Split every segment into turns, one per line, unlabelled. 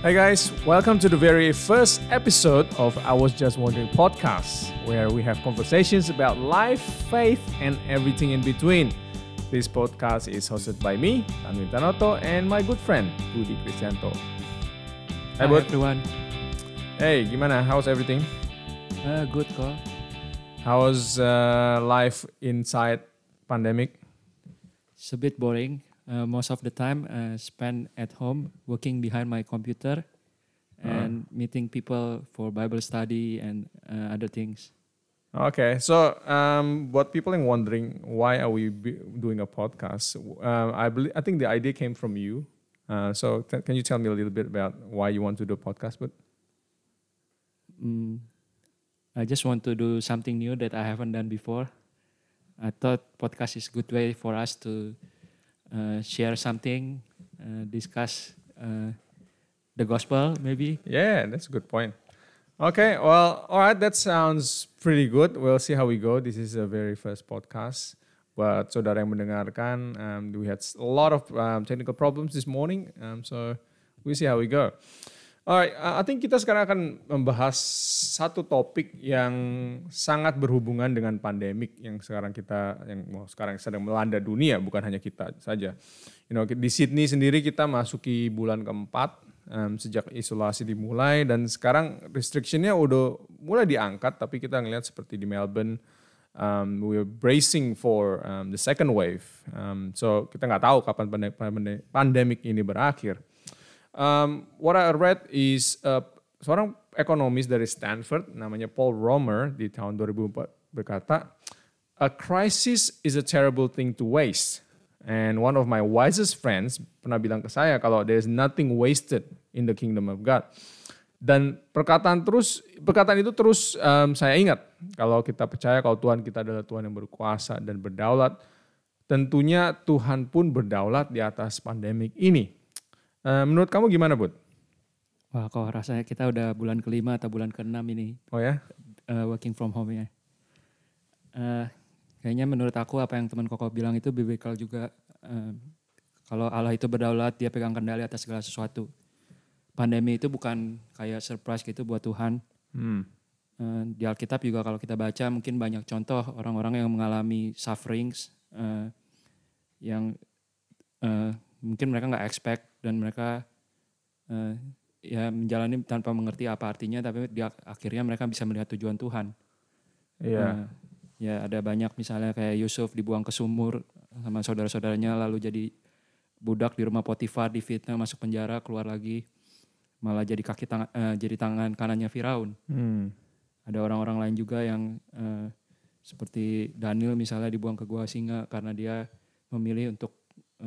Hi guys, welcome to the very first episode of I Was Just Wondering podcast, where we have conversations about life, faith, and everything in between. This podcast is hosted by me, Tanwin Tanoto, and my good friend, Budi Kristianto.
Hi
Bud.
everyone.
Hey, gimana? How's everything?
Good kok.
How's life inside pandemic?
It's a bit boring. Most of the time spent at home working behind my computer and meeting people for Bible study and other things.
Okay, so what people are wondering, why are we doing a podcast? I think the idea came from you. So can you tell me a little bit about why you want to do a podcast? But
I just want to do something new that I haven't done before. I thought podcast is a good way for us to share something, discuss the gospel maybe.
yeah, that's a good point. Okay, well, all right, that sounds pretty good. We'll see how we go. This is a very first podcast. But saudara yang mendengarkan, we had a lot of technical problems this morning, so we'll see how we go. Alright, I think kita sekarang akan membahas satu topik yang sangat berhubungan dengan pandemik yang sekarang sedang melanda dunia, bukan hanya kita saja. Di Sydney sendiri kita masuki bulan keempat sejak isolasi dimulai, dan sekarang restriction-nya udah mulai diangkat, tapi kita ngelihat seperti di Melbourne, we're bracing for the second wave. So kita nggak tahu kapan pandemik ini berakhir. What I read is seorang ekonomis dari Stanford namanya Paul Romer di tahun 2004 berkata, "A crisis is a terrible thing to waste." And one of my wisest friends pernah bilang ke saya kalau there's nothing wasted in the kingdom of God. Dan perkataan itu terus saya ingat, kalau kita percaya kalau Tuhan kita adalah Tuhan yang berkuasa dan berdaulat, tentunya Tuhan pun berdaulat di atas pandemik ini. Menurut kamu gimana, Bud?
Wah, kok rasanya kita udah bulan ke-5 atau bulan ke-6 ini.
Oh ya?
Working from home ya. Kayaknya menurut aku apa yang teman Koko bilang itu biblical juga. Kalau Allah itu berdaulat, dia pegang kendali atas segala sesuatu. Pandemi itu bukan kayak surprise gitu buat Tuhan. Di Alkitab juga kalau kita baca mungkin banyak contoh orang-orang yang mengalami sufferings yang mungkin mereka nggak expect dan mereka ya menjalani tanpa mengerti apa artinya, tapi akhirnya mereka bisa melihat tujuan Tuhan.
Iya.
Ya ada banyak misalnya kayak Yusuf dibuang ke sumur sama saudara-saudaranya, lalu jadi budak di rumah Potifar, difitnah, masuk penjara, keluar lagi malah jadi jadi tangan kanannya Firaun. Ada orang-orang lain juga yang seperti Daniel misalnya dibuang ke gua singa karena dia memilih untuk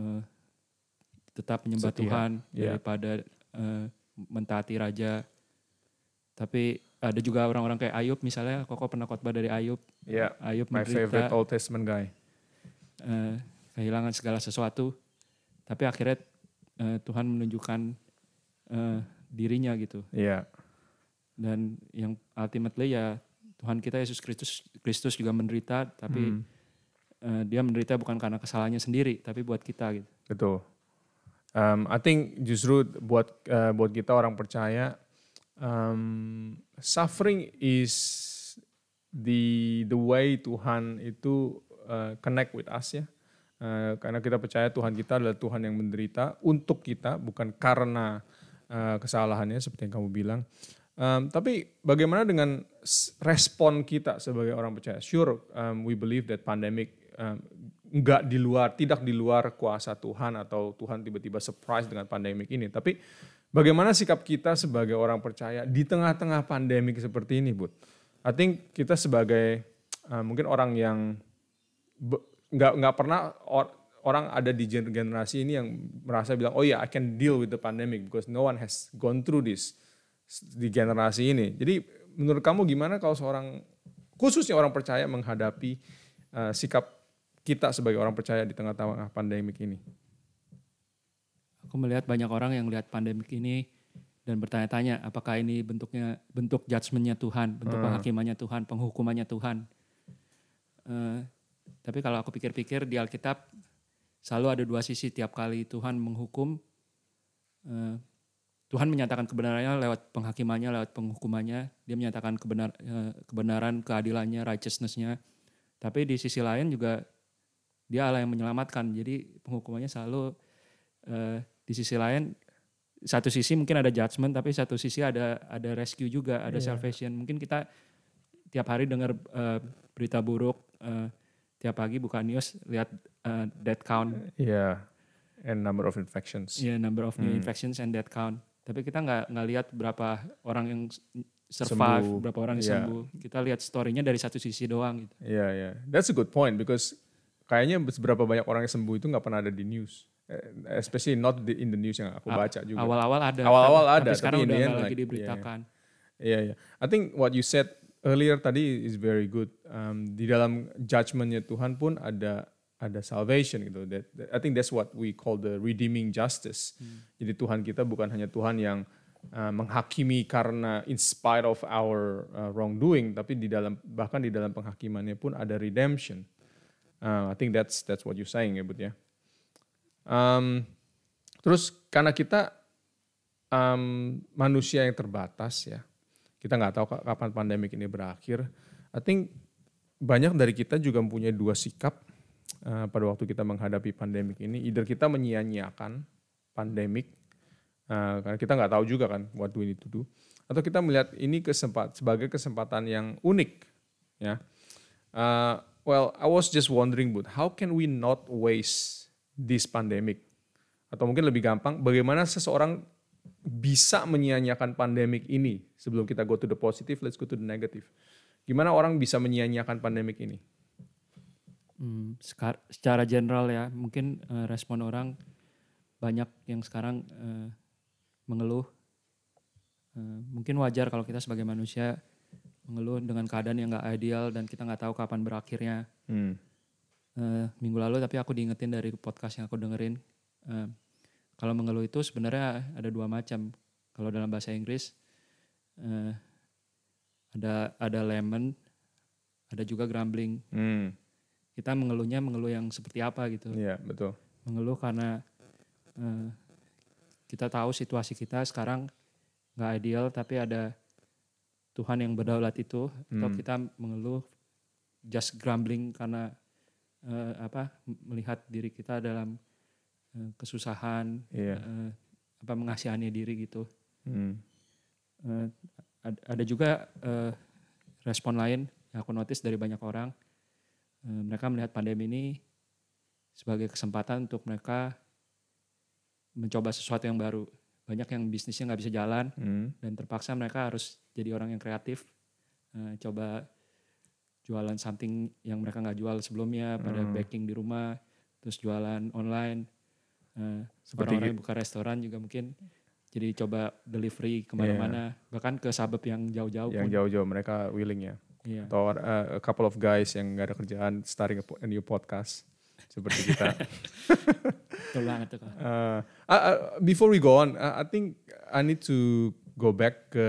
tetap menyembah Tuhan daripada mentaati raja. Tapi ada juga orang-orang kayak Ayub misalnya. Koko pernah khotbah dari Ayub.
Yeah,
Ayub
my
menderita,
favorite Old Testament guy.
Kehilangan segala sesuatu. Tapi akhirnya Tuhan menunjukkan dirinya gitu.
Iya. Yeah.
Dan yang ultimately ya Tuhan kita Yesus Kristus juga menderita. Tapi dia menderita bukan karena kesalahannya sendiri, tapi buat kita gitu.
Betul. I think justru buat kita orang percaya, suffering is the way Tuhan itu connect with us ya. Karena kita percaya Tuhan kita adalah Tuhan yang menderita untuk kita, bukan karena kesalahannya seperti yang kamu bilang. Tapi bagaimana dengan respon kita sebagai orang percaya? Sure, we believe that pandemic tidak di luar kuasa Tuhan, atau Tuhan tiba-tiba surprise dengan pandemik ini. Tapi bagaimana sikap kita sebagai orang percaya di tengah-tengah pandemik seperti ini, Bud? I think kita sebagai mungkin orang yang nggak pernah orang ada di generasi ini yang merasa bilang, oh ya, I can deal with the pandemic because no one has gone through this di generasi ini. Jadi menurut kamu gimana kalau khususnya orang percaya menghadapi sikap kita sebagai orang percaya di tengah-tengah pandemik ini?
Aku melihat banyak orang yang lihat pandemik ini dan bertanya-tanya apakah ini bentuk judgment-nya Tuhan, bentuk penghakimannya Tuhan, penghukumannya Tuhan. Tapi kalau aku pikir-pikir di Alkitab selalu ada dua sisi. Tiap kali Tuhan menghukum, Tuhan menyatakan kebenarannya lewat penghakimannya, lewat penghukumannya. Dia menyatakan kebenaran, keadilannya, righteousness-nya. Tapi di sisi lain juga dia Allah yang menyelamatkan. Jadi penghukumannya selalu di sisi lain, satu sisi mungkin ada judgment, tapi satu sisi ada rescue juga, ada salvation. Mungkin kita tiap hari dengar berita buruk, tiap pagi buka news lihat death count.
And number of infections.
Number of new infections and death count. Tapi kita nggak lihat berapa orang yang survive, sembuh. Berapa orang yang sembuh. Kita lihat story-nya dari satu sisi doang gitu.
That's a good point because kayaknya berapa banyak orang yang sembuh itu nggak pernah ada di news. Especially not in the news yang aku baca juga.
Awal-awal ada. Tapi sekarang udah nggak lagi diberitakan.
I think what you said earlier tadi is very good. Di dalam judgment-nya Tuhan pun ada salvation gitu. I think that's what we call the redeeming justice. Jadi Tuhan kita bukan hanya Tuhan yang menghakimi karena in spite of our wrongdoing, tapi bahkan di dalam penghakimannya pun ada redemption. I think that's what you're saying ya, Bud ya. Terus karena kita manusia yang terbatas ya, kita nggak tahu kapan pandemik ini berakhir. I think banyak dari kita juga mempunyai dua sikap pada waktu kita menghadapi pandemik ini. Either kita menyia-nyiakan pandemik, karena kita nggak tahu juga kan what do we need to do, atau kita melihat ini sebagai kesempatan yang unik ya. Well, I was just wondering, Bud, how can we not waste this pandemic? Atau mungkin lebih gampang, bagaimana seseorang bisa menyia-nyiakan pandemik ini? Sebelum kita go to the positive, let's go to the negative. Gimana orang bisa menyia-nyiakan pandemik ini?
Secara general ya, mungkin respon orang banyak yang sekarang mengeluh. Mungkin wajar kalau kita sebagai manusia mengeluh dengan keadaan yang gak ideal dan kita gak tahu kapan berakhirnya. Minggu lalu tapi aku diingetin dari podcast yang aku dengerin. Kalau mengeluh itu sebenarnya ada dua macam. Kalau dalam bahasa Inggris ada lament, ada juga grumbling. Kita mengeluh yang seperti apa gitu.
Iya, betul.
Mengeluh karena kita tahu situasi kita sekarang gak ideal, tapi ada Tuhan yang berdaulat itu. Atau kita mengeluh just grumbling karena melihat diri kita dalam kesusahan, mengasihani diri gitu. Ada juga respon lain yang aku notice dari banyak orang. Mereka melihat pandemi ini sebagai kesempatan untuk mereka mencoba sesuatu yang baru. Banyak yang bisnisnya gak bisa jalan dan terpaksa mereka harus jadi orang yang kreatif. Coba jualan something yang mereka gak jual sebelumnya, pada baking di rumah, terus jualan online. Orang-orang yang buka restoran juga mungkin jadi coba delivery kemana-mana, bahkan ke suburb yang jauh-jauh.
Yang jauh-jauh mereka willing ya. Atau a couple of guys yang gak ada kerjaan starting a new podcast seperti kita.
Betul banget tuh.
Before we go on, I think I need to go back ke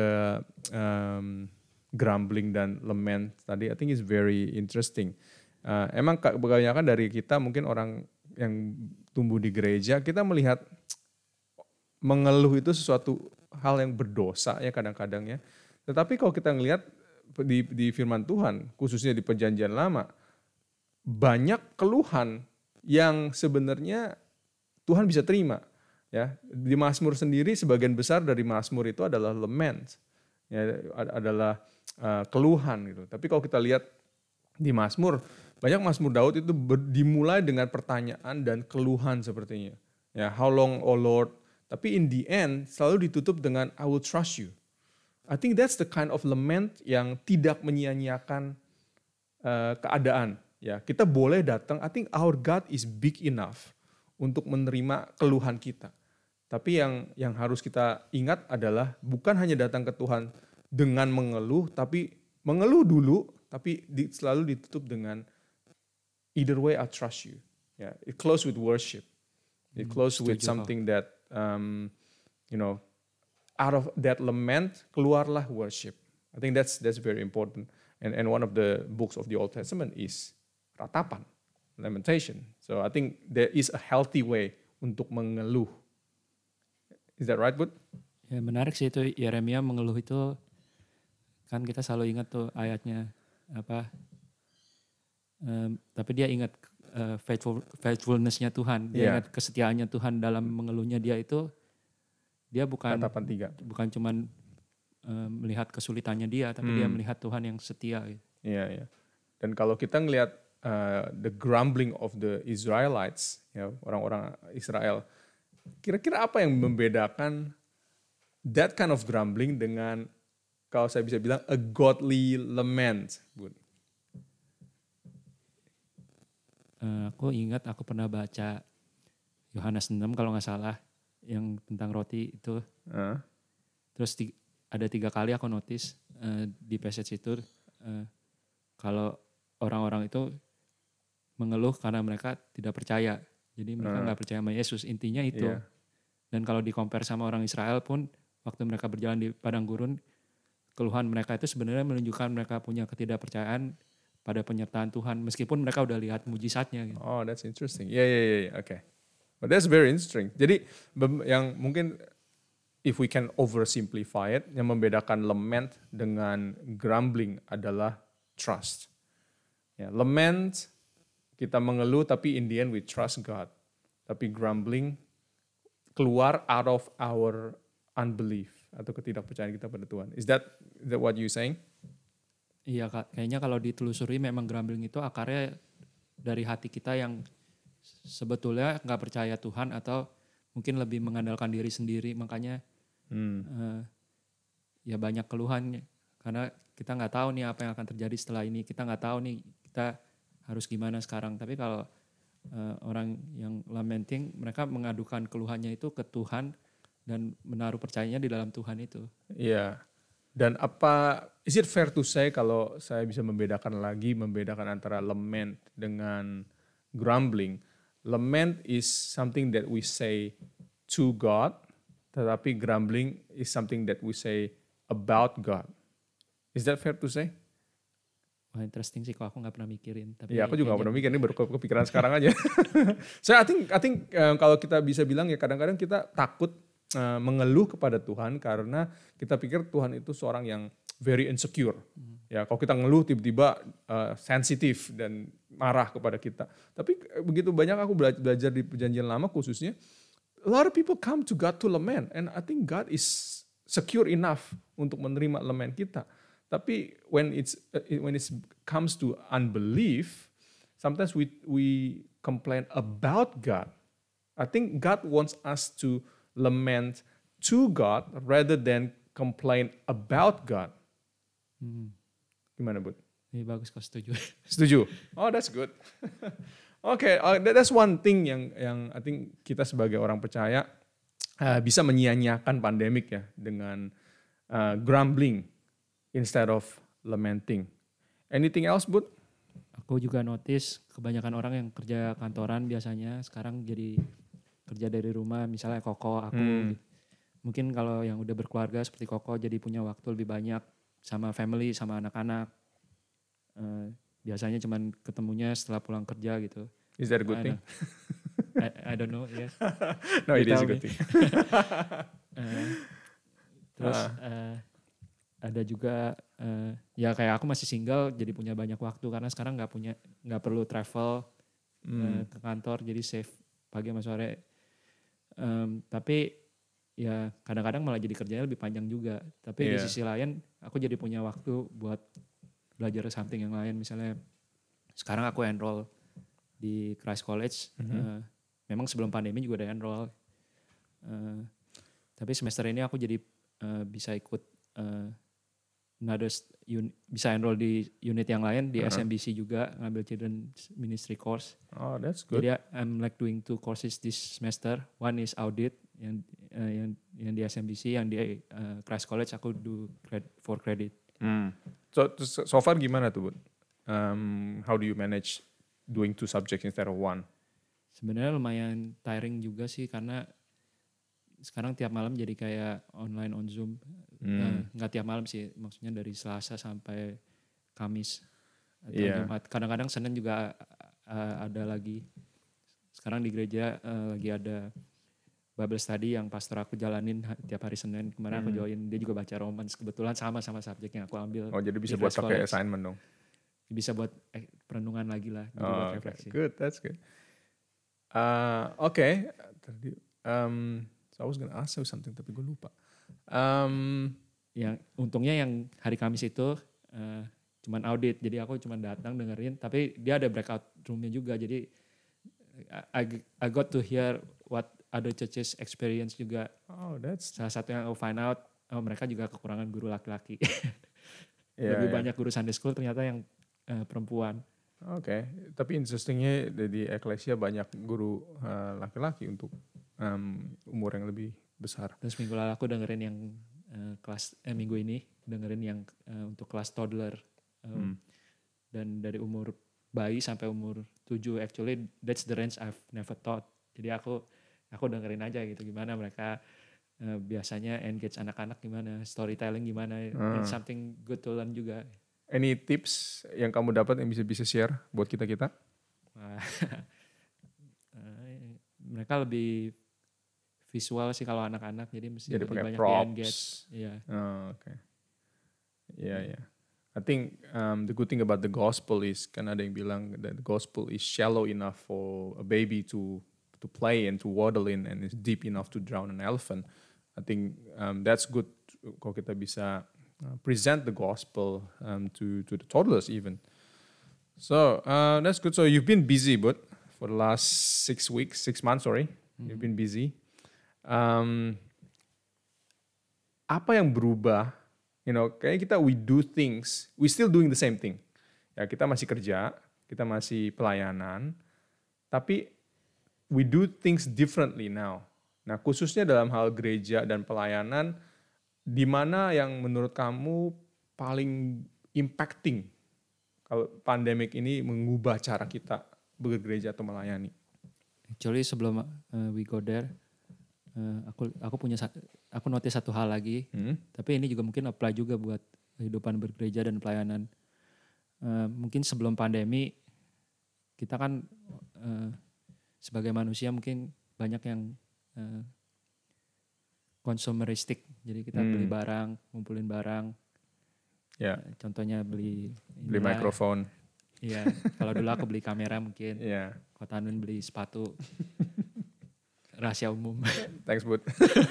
grumbling dan lament tadi. I think it's very interesting. Emang kebanyakan dari kita mungkin orang yang tumbuh di gereja, kita melihat mengeluh itu sesuatu hal yang berdosa ya kadang-kadang ya. Tetapi kalau kita ngelihat di firman Tuhan, khususnya di Perjanjian Lama, banyak keluhan yang sebenarnya Tuhan bisa terima. Ya, di Mazmur sendiri sebagian besar dari Mazmur itu adalah lament, ya, adalah keluhan gitu. Tapi kalau kita lihat di Mazmur, banyak Mazmur Daud itu dimulai dengan pertanyaan dan keluhan sepertinya. Ya, how long, oh Lord? Tapi in the end selalu ditutup dengan I will trust you. I think that's the kind of lament yang tidak menyia-nyiakan keadaan. Ya, kita boleh datang. I think our God is big enough untuk menerima keluhan kita. Tapi yang harus kita ingat adalah bukan hanya datang ke Tuhan dengan mengeluh, tapi mengeluh dulu, tapi selalu ditutup dengan either way I trust you. Yeah, it close with worship. It close with something that out of that lament keluarlah worship. I think that's very important. And one of the books of the Old Testament is ratapan, lamentation. So I think there is a healthy way untuk mengeluh. Is that right, Bud?
Ya menarik sih itu Yeremia mengeluh itu, kan kita selalu ingat tuh ayatnya apa, tapi dia ingat faithfulness-nya Tuhan, dia
Iya,
ingat kesetiaannya Tuhan dalam mengeluhnya dia itu, dia
tatapan 3.
bukan cuman melihat kesulitannya dia, tapi dia melihat Tuhan yang setia. Gitu.
Iya, iya. Dan kalau kita ngelihat the grumbling of the Israelites, ya orang-orang Israel, kira-kira apa yang membedakan that kind of grumbling dengan kalau saya bisa bilang a godly lament, Bud?
Aku ingat aku pernah baca Yohanes 6 kalau nggak salah, yang tentang roti itu. Terus ada 3 kali aku notice di passage itu kalau orang-orang itu mengeluh karena mereka tidak percaya. Jadi mereka nggak percaya sama Yesus, intinya itu.
Iya.
Dan kalau di-compare sama orang Israel pun, waktu mereka berjalan di padang gurun, keluhan mereka itu sebenarnya menunjukkan mereka punya ketidakpercayaan pada penyertaan Tuhan, meskipun mereka udah lihat mujizatnya. Gitu.
Oh, that's interesting. Yeah. Okay. But that's very interesting. Jadi yang mungkin if we can oversimplify it, yang membedakan lament dengan grumbling adalah trust. Ya, lament kita mengeluh tapi in the end we trust God. Tapi grumbling keluar out of our unbelief atau ketidakpercayaan kita pada Tuhan. Is that what you saying?
Iya Kak, kayaknya kalau ditelusuri memang grumbling itu akarnya dari hati kita yang sebetulnya nggak percaya Tuhan atau mungkin lebih mengandalkan diri sendiri, makanya ya banyak keluhan karena kita nggak tahu nih apa yang akan terjadi setelah ini, kita nggak tahu nih kita harus gimana sekarang. Tapi kalau orang yang lamenting, mereka mengadukan keluhannya itu ke Tuhan dan menaruh percayanya di dalam Tuhan itu.
Iya. Dan is it fair to say kalau saya bisa membedakan antara lament dengan grumbling. Lament is something that we say to God, tetapi grumbling is something that we say about God. Is that fair to say?
Wah, interesting sih, kalau aku nggak pernah mikirin. Tapi
ya, aku juga
ya
nggak pernah
jadi,
mikir, ini baru kepikiran sekarang aja. So I think kalau kita bisa bilang ya kadang-kadang kita takut mengeluh kepada Tuhan karena kita pikir Tuhan itu seorang yang very insecure. Ya, kalau kita ngeluh tiba-tiba sensitif dan marah kepada kita. Tapi begitu banyak aku belajar di Perjanjian Lama khususnya, a lot of people come to God to lament, and I think God is secure enough untuk menerima lament kita. Tapi when it comes to unbelief, sometimes we complain about God. I think God wants us to lament to God rather than complain about God. Gimana, Bud?
ini bagus kau setuju.
Setuju? Oh, that's good. Okay, that's one thing yang I think kita sebagai orang percaya bisa menyia-nyiakan pandemik ya dengan grumbling instead of lamenting. Anything else, Bud?
Aku juga notice kebanyakan orang yang kerja kantoran biasanya sekarang jadi kerja dari rumah, misalnya Koko, aku gitu. Mungkin kalau yang udah berkeluarga seperti Koko jadi punya waktu lebih banyak sama family, sama anak-anak. Biasanya cuman ketemunya setelah pulang kerja gitu.
Is that a good thing?
I don't know, yes.
No, it is a
Tell
good
me.
thing.
Terus ada juga ya kayak aku masih single jadi punya banyak waktu karena sekarang nggak perlu travel ke kantor, jadi save pagi sama sore. Tapi ya kadang-kadang malah jadi kerjanya lebih panjang juga. Tapi di sisi lain aku jadi punya waktu buat belajar something yang lain. Misalnya sekarang aku enroll di Christ College. Memang sebelum pandemi juga udah enroll. Tapi semester ini aku jadi bisa ikut bisa enroll di unit yang lain di SMBC juga, ngambil children ministry course.
Oh, that's good.
Jadi I'm like doing 2 courses this semester. One is audit yang di SMBC, yang di Christ College aku do for credit.
So far gimana tuh, Bud? How do you manage doing 2 subjects instead of 1?
Sebenarnya lumayan tiring juga sih karena sekarang tiap malam jadi kayak online on Zoom. Nggak tiap malam sih, maksudnya dari Selasa sampai Kamis atau Jumat. Kadang-kadang Senin juga ada lagi. Sekarang di gereja lagi ada Bible study yang pastor aku jalanin tiap hari Senin. Kemarin aku join, dia juga baca Romans. Kebetulan sama subjek yang aku ambil.
Oh, jadi bisa
di
buat
Christ
pakai
College.
assignment dong.
Bisa buat perenungan lagi lah. Jadi buat
Oh,
refleksi.
good, that's good. Okay. So I was gonna ask you something tapi gue lupa.
Yang untungnya yang hari Kamis itu cuman audit, jadi aku cuman datang dengerin, tapi dia ada breakout roomnya juga, jadi I got to hear what other churches experience juga.
Oh, that's
Salah satu yang aku find out, mereka juga kekurangan guru laki-laki.
yeah.
Banyak guru Sunday school ternyata yang perempuan.
Oke, tapi interestingnya di Eklesia banyak guru laki-laki untuk umur yang lebih besar.
Terus minggu lalu aku dengerin yang minggu ini dengerin yang untuk kelas toddler. Dan dari umur bayi sampai umur 7, actually that's the range I've never thought. Jadi aku dengerin aja gitu gimana mereka biasanya engage anak-anak, gimana storytelling, gimana and something good to learn juga.
Any tips yang kamu dapat yang bisa share buat kita?
Mereka lebih visual sih kalau anak-anak, jadi mesti lebih
pakai
banyak
props.
di-engage. Yeah.
Oh, okay. Yeah. I think the good thing about the gospel is kan ada yang bilang that the gospel is shallow enough for a baby to play and to waddle in, and is deep enough to drown an elephant. I think that's good kalau kita bisa present the gospel to the toddlers even. So that's good. So you've been busy, but for the last 6 months, you've been busy. Apa yang berubah? Kayaknya kita we still doing the same thing. Ya, kita masih kerja, kita masih pelayanan, tapi we do things differently now. Nah, khususnya dalam hal gereja dan pelayanan, di mana yang menurut kamu paling impacting kalau pandemik ini mengubah cara kita bergereja atau melayani?
Actually sebelum we go there, aku notice satu hal lagi, tapi ini juga mungkin apply juga buat kehidupan bergereja dan pelayanan. Mungkin sebelum pandemi kita kan sebagai manusia mungkin banyak yang consumeristic, jadi kita beli barang, ngumpulin barang.
Ya.
Contohnya beli
mikrofon.
Iya, kalau dulu aku beli kamera mungkin.
Iya.
Kok Tanun beli sepatu. Rahasia umum.
Thanks, Bud.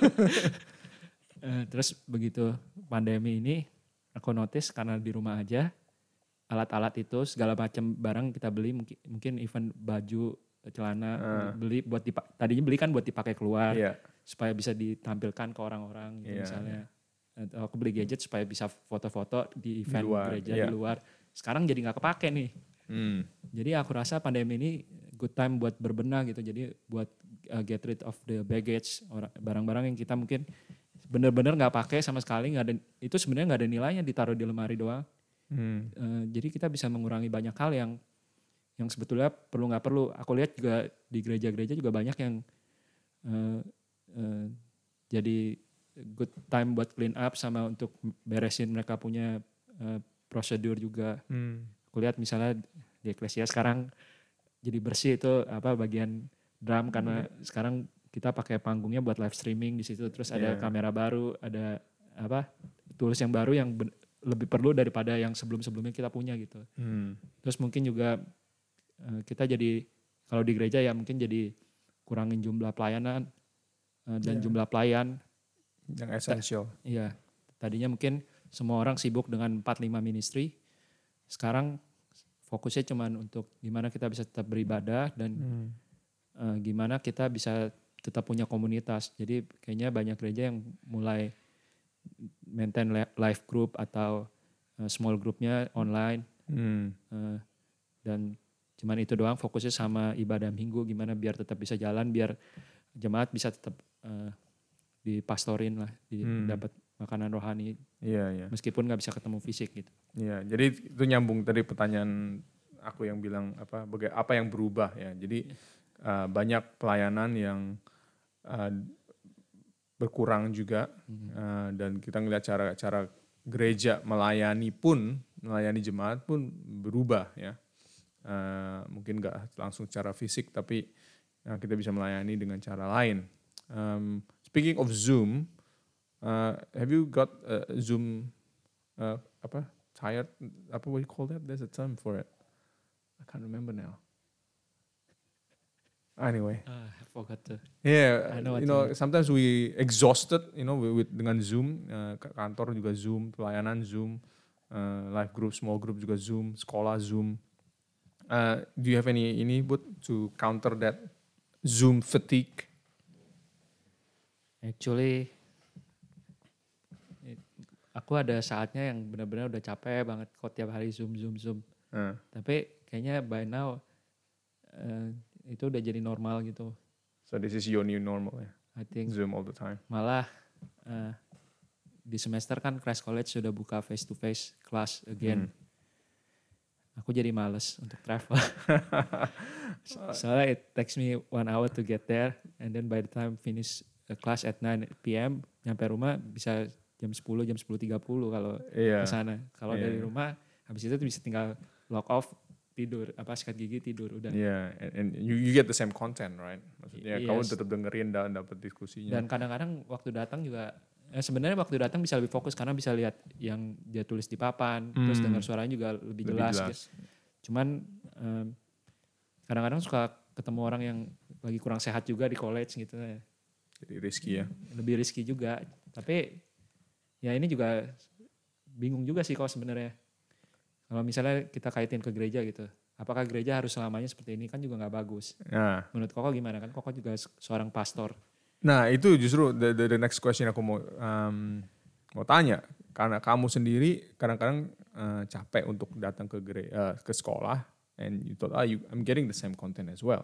Terus begitu pandemi ini, aku notice karena di rumah aja, alat-alat itu segala macam barang kita beli, mungkin even baju, celana, beli buat tadinya beli kan buat dipakai keluar, supaya bisa ditampilkan ke orang-orang gitu misalnya. Atau aku beli gadget supaya bisa foto-foto di event gereja di luar. Sekarang jadi nggak kepake nih. Jadi aku rasa pandemi ini good time buat berbenah gitu. Jadi buat get rid of the baggage, barang-barang yang kita mungkin benar-benar nggak pakai sama sekali, nggak ada, itu sebenarnya nggak ada nilainya, ditaruh di lemari doang. Jadi kita bisa mengurangi banyak hal yang sebetulnya perlu nggak perlu. Aku lihat juga di gereja-gereja juga banyak yang jadi good time buat clean up sama untuk beresin mereka punya prosedur juga. Aku lihat misalnya di Eklesia sekarang jadi bersih itu bagian drum, karena sekarang kita pakai panggungnya buat live streaming di situ, terus ada kamera baru, ada tools yang baru yang lebih perlu daripada yang sebelum-sebelumnya kita punya gitu. Terus mungkin juga kita jadi kalau di gereja ya mungkin jadi kurangin jumlah pelayanan dan jumlah pelayan
yang esensial.
Iya, tadinya mungkin semua orang sibuk dengan 4-5 ministry. Sekarang fokusnya cuman untuk gimana kita bisa tetap beribadah dan gimana kita bisa tetap punya komunitas. Jadi kayaknya banyak gereja yang mulai maintain live group atau small groupnya online. Dan cuman itu doang fokusnya sama ibadah minggu, gimana biar tetap bisa jalan, biar jemaat bisa tetap dipastorin lah, dapat makanan rohani. Meskipun nggak bisa ketemu fisik gitu.
Iya, jadi itu nyambung tadi pertanyaan aku yang bilang apa yang berubah ya. Jadi banyak pelayanan yang berkurang juga dan kita ngelihat cara gereja melayani jemaat pun berubah ya. Mungkin nggak langsung secara fisik, tapi kita bisa melayani dengan cara lain. Speaking of Zoom, have you got Zoom tired? What do you call that? There's a term for it. I can't remember now. Anyway.
I forgot to.
Yeah,
I know what
you
you
know,
mean.
sometimes we exhausted, you know, with dengan Zoom, kantor juga Zoom, pelayanan Zoom, live group, small group juga Zoom, sekolah Zoom. Do you have any but to counter that Zoom fatigue?
Actually, aku ada saatnya yang benar-benar udah capek banget kok tiap hari zoom. Tapi kayaknya by now itu udah jadi normal gitu.
So this is your new normal, ya?
I think
Zoom all the time.
malah di semester kan Christ College sudah buka face to face class again. Aku jadi males untuk travel. Soalnya it takes me 1 hour to get there, and then by the time finish class at 9 p.m. nyampe rumah bisa jam 10:30 kalau ke sana. Kalau dari rumah habis itu bisa tinggal log off, tidur, sikat gigi, tidur, udah.
Yeah, and you get the same content, right? Maksudnya kamu tetap dengerin dan dapat diskusinya.
Dan kadang-kadang waktu datang juga sebenarnya waktu datang bisa lebih fokus karena bisa lihat yang dia tulis di papan, terus dengar suaranya juga lebih jelas. Gitu. Cuman kadang-kadang suka ketemu orang yang lagi kurang sehat juga di college gitu.
Jadi risky ya.
Lebih risky juga. Tapi ya ini juga bingung juga sih kalau sebenarnya. Kalau misalnya kita kaitin ke gereja gitu. Apakah gereja harus selamanya seperti ini, kan juga gak bagus.
Nah.
Menurut Koko gimana? Kan Koko juga seorang pastor.
Nah itu justru the next question aku mau tanya. Karena kamu sendiri kadang-kadang capek untuk datang ke sekolah. And you thought, I'm getting the same content as well.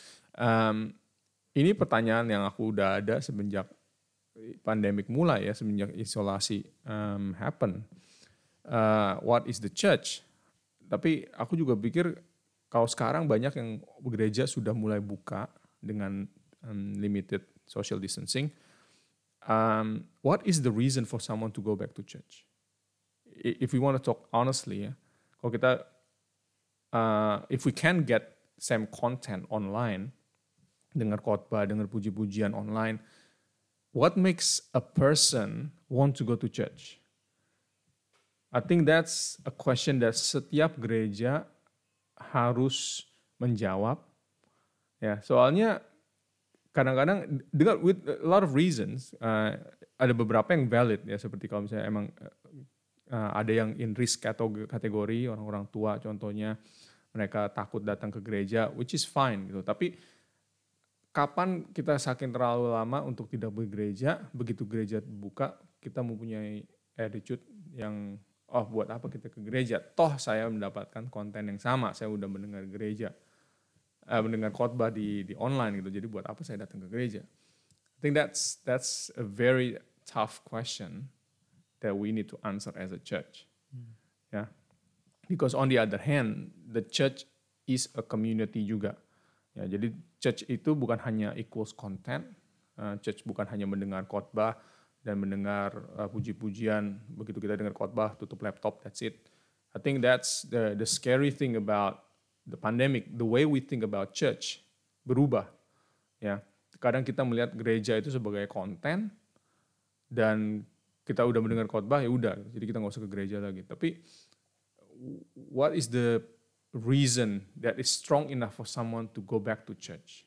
Ini pertanyaan yang aku udah ada semenjak pandemik mulai ya, semenjak isolasi happen. What is the church? Tapi aku juga pikir kalau sekarang banyak yang gereja sudah mulai buka dengan limited social distancing. What is the reason for someone to go back to church? If we want to talk honestly ya, kalau kita if we can get same content online, dengar khotbah, dengar puji-pujian online, what makes a person want to go to church? I think that's a question that setiap gereja harus menjawab. Ya, soalnya kadang-kadang with a lot of reasons, ada beberapa yang valid ya, seperti kalau misalnya emang ada yang in risk kategori, orang-orang tua contohnya, mereka takut datang ke gereja, which is fine gitu. Tapi kapan kita saking terlalu lama untuk tidak bergereja, begitu gereja buka, kita mempunyai attitude yang, buat apa kita ke gereja? Toh saya mendapatkan konten yang sama, saya udah mendengar mendengar khotbah di online gitu, jadi buat apa saya datang ke gereja? I think that's a very tough question that we need to answer as a church. Yeah. Because on the other hand, the church is a community juga. Ya, jadi church itu bukan hanya equals content, church bukan hanya mendengar khotbah dan mendengar puji-pujian, begitu kita dengar khotbah, tutup laptop, that's it. I think that's the scary thing about the pandemic, the way we think about church berubah. Ya, kadang kita melihat gereja itu sebagai konten dan kita udah mendengar khotbah ya udah, jadi kita nggak usah ke gereja lagi. Tapi what is the reason that is strong enough for someone to go back to church?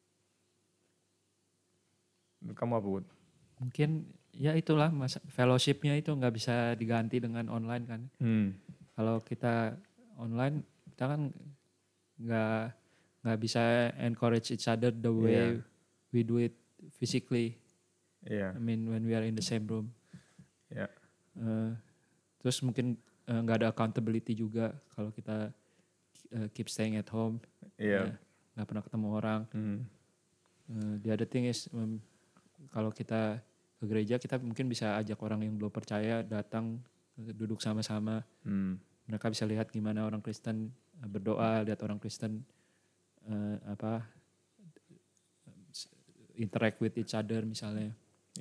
Kamu apa, Bud?
Mungkin ya itulah fellowship-nya itu nggak bisa diganti dengan online kan. Kalau kita online, kita kan nggak bisa encourage each other the way we do it physically. I mean when we are in the same room. Terus mungkin nggak ada accountability juga kalau kita keep staying at home, nggak pernah ketemu orang. The other thing is kalau kita ke gereja, kita mungkin bisa ajak orang yang belum percaya datang, duduk sama-sama. Mereka bisa lihat gimana orang Kristen berdoa, lihat orang Kristen interact with each other misalnya.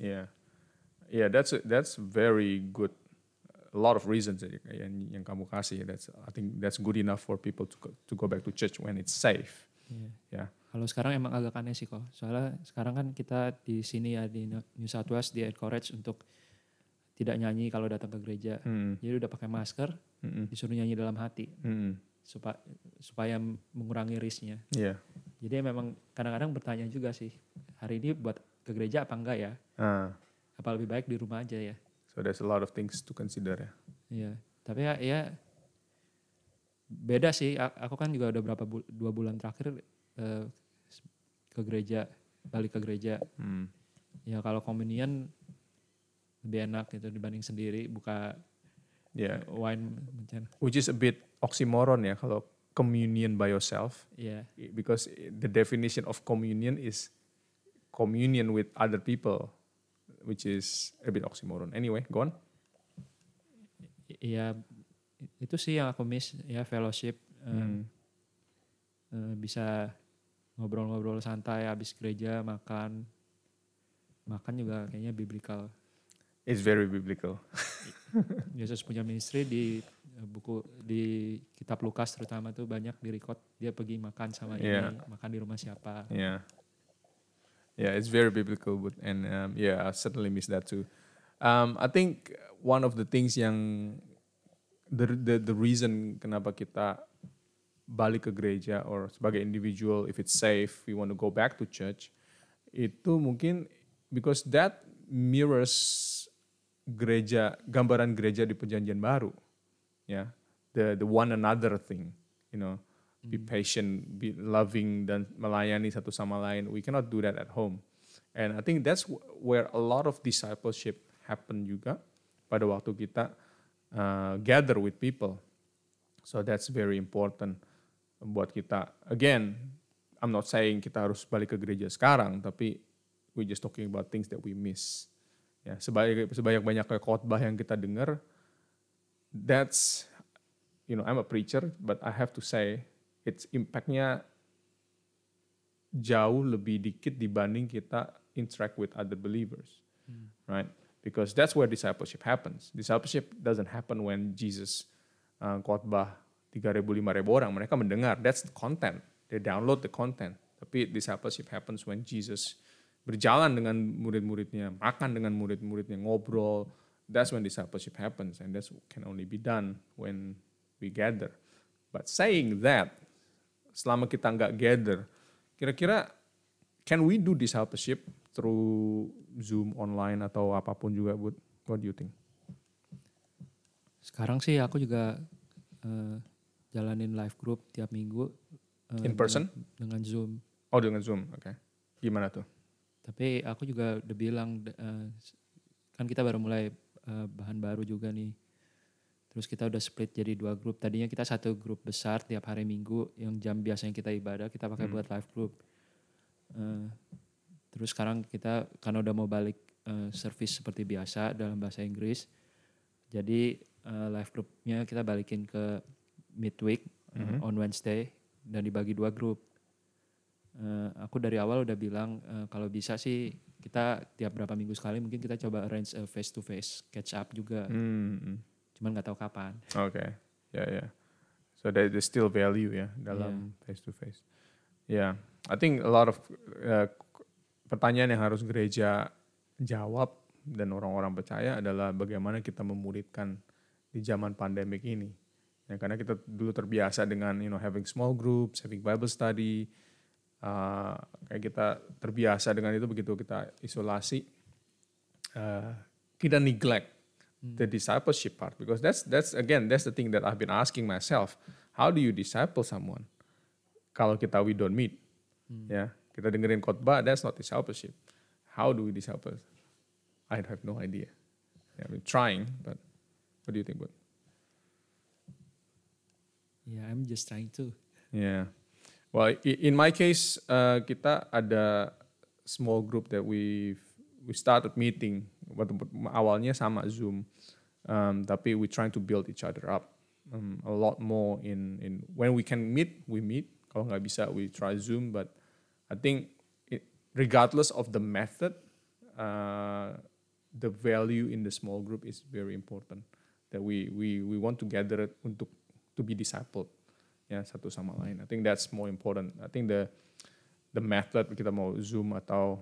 That's very good. A lot of reasons yang kamu kasih. I think that's good enough for people to go back to church when it's safe.
Iya.
Ya.
Kalau sekarang emang agak aneh sih kok. Soalnya sekarang kan kita di sini ya di New South Wales di encourage untuk tidak nyanyi kalau datang ke gereja. Jadi udah pakai masker, disuruh nyanyi dalam hati supaya mengurangi risknya.
Yeah.
Jadi memang kadang-kadang bertanya juga sih, hari ini buat ke gereja apa enggak ya? Apa lebih baik di rumah aja ya?
So there's a lot of things to consider ya.
Iya, tapi ya beda sih. Aku kan juga udah 2 bulan terakhir ke gereja, balik ke gereja. Ya kalau komunian lebih enak gitu dibanding sendiri buka wine.
Which is a bit oxymoron ya kalau communion by yourself.
Yeah.
Because the definition of communion is communion with other people, which is a bit oxymoron. Anyway, go on.
Ya itu sih yang aku miss ya, fellowship. Bisa ngobrol-ngobrol santai habis gereja, makan juga kayaknya biblical.
It's very biblical.
Yesus punya ministry di buku di kitab Lukas terutama tuh banyak di record dia pergi makan sama ini, makan di rumah siapa.
Yeah, it's very biblical, but I certainly miss that too. I think one of the things yang the reason kenapa kita balik ke gereja or sebagai individual, if it's safe, we want to go back to church, itu mungkin because that mirrors gereja, gambaran gereja di Perjanjian Baru, ya, the one another thing, you know, be patient, be loving dan melayani satu sama lain. We cannot do that at home, and I think that's where a lot of discipleship happen juga pada waktu kita gather with people. So that's very important buat kita. Again, I'm not saying kita harus balik ke gereja sekarang, tapi we're just talking about things that we miss. Ya, sebanyak-banyaknya khotbah yang kita dengar, that's, you know, I'm a preacher, but I have to say, its impactnya jauh lebih dikit dibanding kita interact with other believers, right? Because that's where discipleship happens. Discipleship doesn't happen when Jesus khotbah 3,000, 5,000 orang. Mereka mendengar, that's the content. They download the content. Tapi discipleship happens when Jesus berjalan dengan murid-muridnya, makan dengan murid-muridnya, ngobrol. That's when discipleship happens, and that can only be done when we gather. But saying that, selama kita nggak gather, kira-kira can we do discipleship through Zoom, online, atau apapun juga, Bud? What do you think?
Sekarang sih aku juga jalanin live group tiap minggu.
In person?
Dengan Zoom.
Oh, dengan Zoom, oke. Okay. Gimana tuh?
Tapi aku juga udah bilang, kan kita baru mulai bahan baru juga nih. Terus kita udah split jadi 2 grup. Tadinya kita satu grup besar tiap hari Minggu, yang jam biasanya kita ibadah, kita pakai buat live group. Terus sekarang kita karena udah mau balik service seperti biasa dalam bahasa Inggris, jadi live groupnya kita balikin ke midweek on Wednesday dan dibagi 2 grup. Aku dari awal udah bilang kalau bisa sih kita tiap berapa minggu sekali mungkin kita coba arrange face to face catch up juga. Cuman nggak tahu kapan.
Okay, yeah. So there's still value ya dalam face to face. Yeah, I think a lot of pertanyaan yang harus gereja jawab dan orang-orang percaya adalah bagaimana kita memuridkan di zaman pandemik ini. Ya, karena kita dulu terbiasa dengan having small groups, having Bible study, kayak kita terbiasa dengan itu. Begitu kita isolasi, kita neglect the discipleship part, because that's the thing that I've been asking myself. How do you disciple someone kalau we don't meet? Ya, kita dengerin khotbah, that's not discipleship. How do we disciple? I have no idea. Yeah, I'm trying, but what do you think, Bud?
Yeah, I'm just trying to.
Yeah. Well, in my case, kita ada small group that we started meeting. Awalnya sama Zoom, tapi we trying to build each other up a lot more. In when we can meet, we meet. Kalau nggak bisa, we try Zoom. But I think, regardless of the method, the value in the small group is very important. That we want to gather it to be discipled. ya satu sama lain. I think that's more important. I think the method kita mau Zoom atau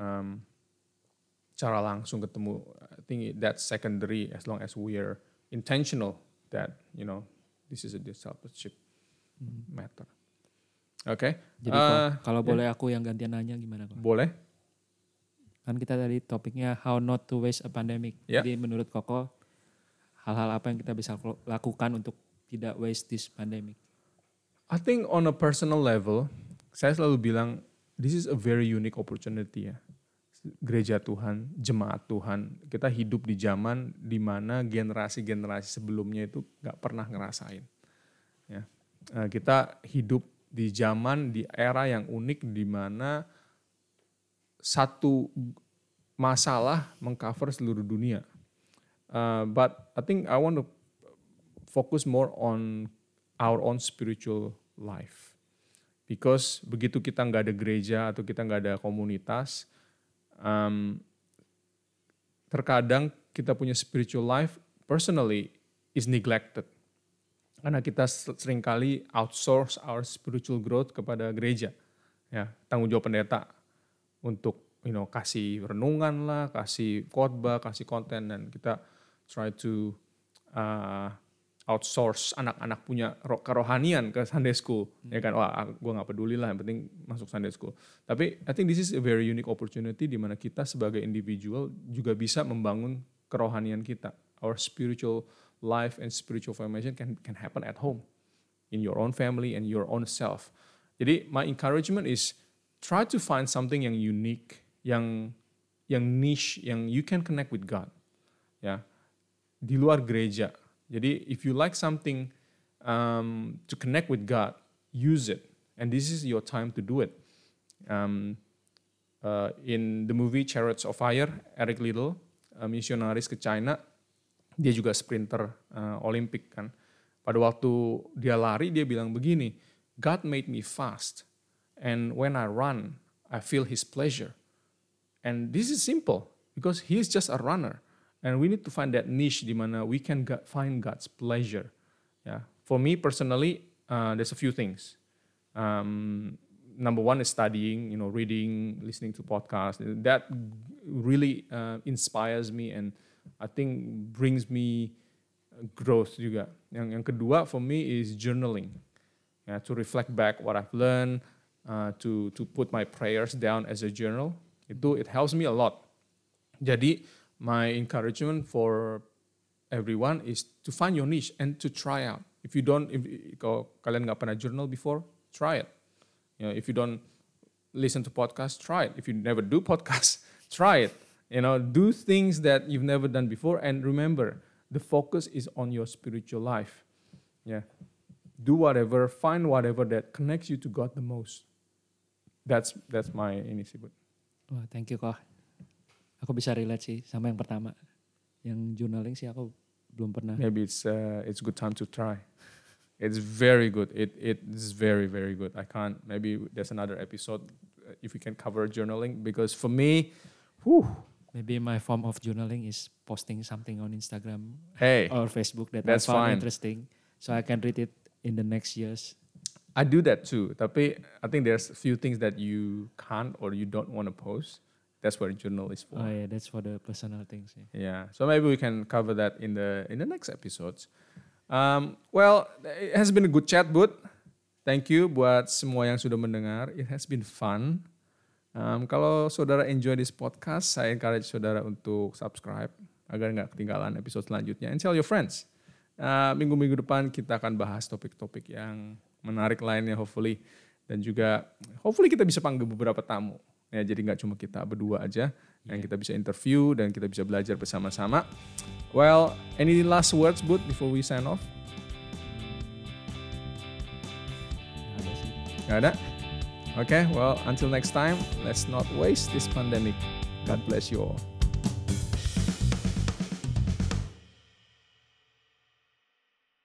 cara langsung ketemu, I think that's secondary as long as we're intentional that this is a discipleship matter. Oke.
Jadi kalau boleh aku yang gantian nanya gimana Kok?
Boleh.
Kan kita tadi topiknya how not to waste a pandemic.
Yeah.
Jadi menurut Koko, hal-hal apa yang kita bisa lakukan untuk tidak waste this pandemic?
I think on a personal level, saya selalu bilang this is a very unique opportunity ya. Gereja Tuhan, jemaat Tuhan, kita hidup di zaman di mana generasi-generasi sebelumnya itu gak pernah ngerasain. Ya. Kita hidup di zaman, di era yang unik di mana satu masalah mengcover seluruh dunia. But I think I want to focus more on our own spiritual life. Because begitu kita nggak ada gereja atau kita nggak ada komunitas, terkadang kita punya spiritual life personally is neglected. Karena kita seringkali outsource our spiritual growth kepada gereja. Ya, tanggung jawab pendeta untuk kasih renungan lah, kasih khotbah, kasih konten, dan kita try to outsource anak-anak punya kerohanian ke Sunday school. Ya kan, wah gue gak peduli lah, yang penting masuk Sunday school. Tapi I think this is a very unique opportunity di mana kita sebagai individual juga bisa membangun kerohanian kita. Our spiritual life and spiritual formation can happen at home, in your own family and your own self. Jadi my encouragement is try to find something yang unique, yang niche, yang you can connect with God. Ya, di luar gereja. Jadi if you like something to connect with God, use it. And this is your time to do it. In the movie Chariots of Fire, Eric Liddell, misionaris ke China, dia juga sprinter Olimpik kan. Pada waktu dia lari, dia bilang begini, God made me fast. And when I run, I feel His pleasure. And this is simple, because He is just a runner. And we need to find that niche di mana we can find God's pleasure. Yeah. For me personally, there's a few things. Number one is studying, reading, listening to podcasts. That really inspires me and I think brings me growth juga. Yang kedua for me is journaling. To reflect back what I've learned, to put my prayers down as a journal. It helps me a lot. Jadi my encouragement for everyone is to find your niche and to try out. If kalian nggak pernah journal before, try it. If you don't listen to podcasts, try it. If you never do podcasts, try it. Do things that you've never done before, and remember, the focus is on your spiritual life. Yeah, do whatever, find whatever that connects you to God the most. That's my initiative.
Wah, thank you Kok. Aku bisa relate sih sama yang pertama. Yang journaling sih aku belum pernah.
Maybe it's good time to try. It's very good. It is very, very good. I can't. Maybe there's another episode if we can cover journaling, because for me,
maybe my form of journaling is posting something on Instagram or Facebook that I
that's
found
fine.
interesting, so I can read it in the next years.
I do that too. Tapi I think there's a few things that you can't or you don't want to post. That's what a journal is for.
Oh yeah, that's for the personal things.
Yeah. So maybe we can cover that in the next episodes. Well, it has been a good chat, Bud. Thank you buat semua yang sudah mendengar. It has been fun. Kalau saudara enjoy this podcast, saya encourage saudara untuk subscribe agar nggak ketinggalan episode selanjutnya. And tell your friends. Minggu-minggu depan kita akan bahas topik-topik yang menarik lainnya hopefully. Dan juga hopefully kita bisa panggil beberapa tamu. Ya, jadi nggak cuma kita berdua aja, yang kita bisa interview dan kita bisa belajar bersama-sama. Well, any last words, Bud, before we sign off? Nggak ada? Okay, well, until next time, let's not waste this pandemic. God bless you all.